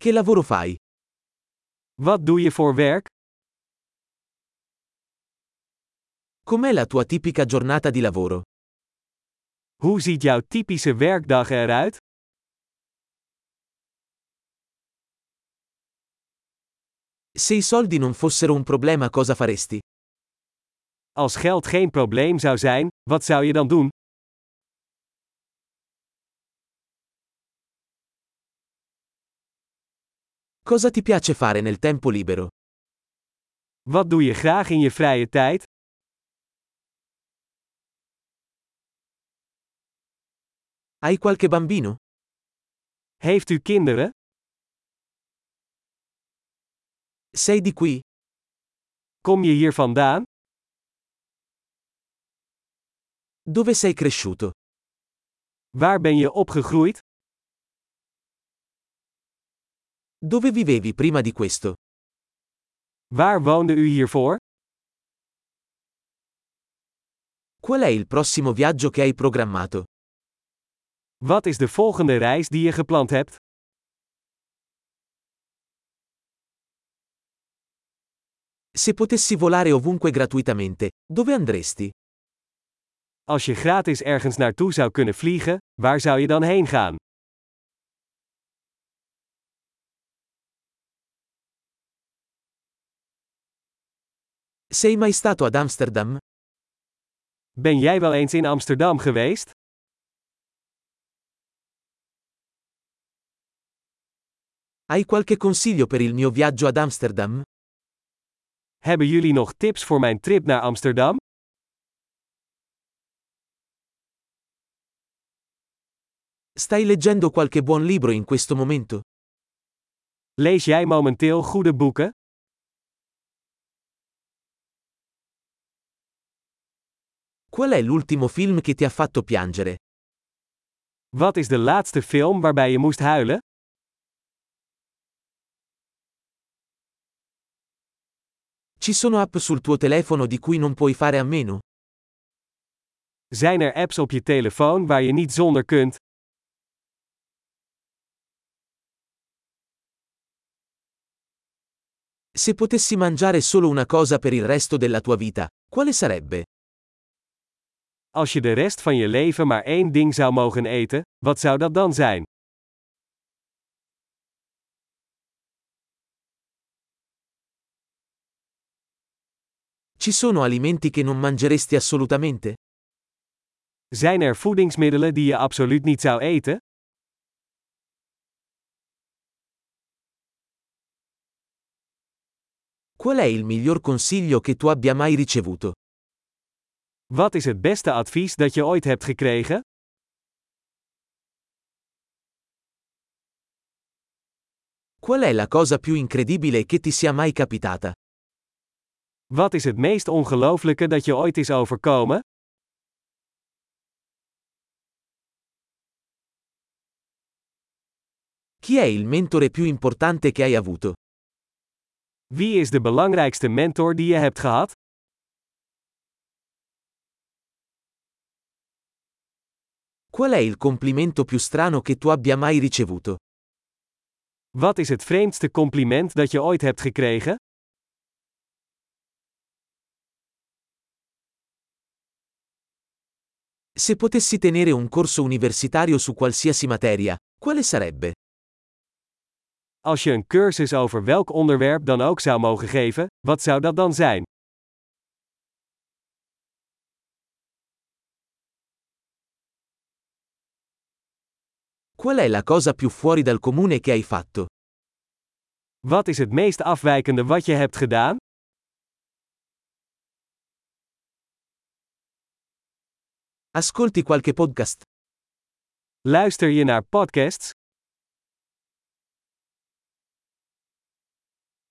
Che lavoro fai? Wat doe je voor werk? Com'è la tua tipica giornata di lavoro? Hoe ziet jouw typische werkdag eruit? Se i soldi non fossero un problema, cosa faresti? Als geld geen probleem zou zijn, wat zou je dan doen? Cosa ti piace fare nel tempo libero? Wat doe je graag in je vrije tijd? Hai qualche bambino? Heeft u kinderen? Sei di qui? Kom je hier vandaan? Dove sei cresciuto? Waar ben je opgegroeid? Dove vivevi prima di questo? Waar woonde u hiervoor? Qual è il prossimo viaggio che hai programmato? Wat is de volgende reis die je gepland hebt? Se potessi volare ovunque gratuitamente, dove andresti? Als je gratis ergens naartoe zou kunnen vliegen, waar zou je dan heen gaan? Sei mai stato ad Amsterdam? Ben jij wel eens in Amsterdam geweest? Hai qualche consiglio per il mio viaggio ad Amsterdam? Hebben jullie nog tips voor mijn trip naar Amsterdam? Stai leggendo qualche buon libro in questo momento? Lees jij momenteel goede boeken? Qual è l'ultimo film che ti ha fatto piangere? Wat is de laatste film waarbij je moest huilen? Ci sono app sul tuo telefono di cui non puoi fare a meno? Zijn er apps op je telefoon waar je niet zonder kunt? Se potessi mangiare solo una cosa per il resto della tua vita, quale sarebbe? Als je de rest van je leven maar één ding zou mogen eten, wat zou dat dan zijn? Ci sono alimenti che non mangeresti assolutamente? Zijn er voedingsmiddelen die je absoluut niet zou eten? Qual è il miglior consiglio che tu abbia mai ricevuto? Wat is het beste advies dat je ooit hebt gekregen? Qual è la cosa più incredibile che ti sia mai capitata? Wat is het meest ongelooflijke dat je ooit is overkomen? Chi è il mentore più importante che hai avuto? Wie is de belangrijkste mentor die je hebt gehad? Qual è il complimento più strano che tu abbia mai ricevuto? Wat is het vreemdste compliment dat je ooit hebt gekregen? Se potessi tenere un corso universitario su qualsiasi materia, quale sarebbe? Als je een cursus over welk onderwerp dan ook zou mogen geven, wat zou dat dan zijn? Qual è la cosa più fuori dal comune che hai fatto? Wat is het meest afwijkende wat je hebt gedaan? Ascolti qualche podcast? Luister je naar podcasts?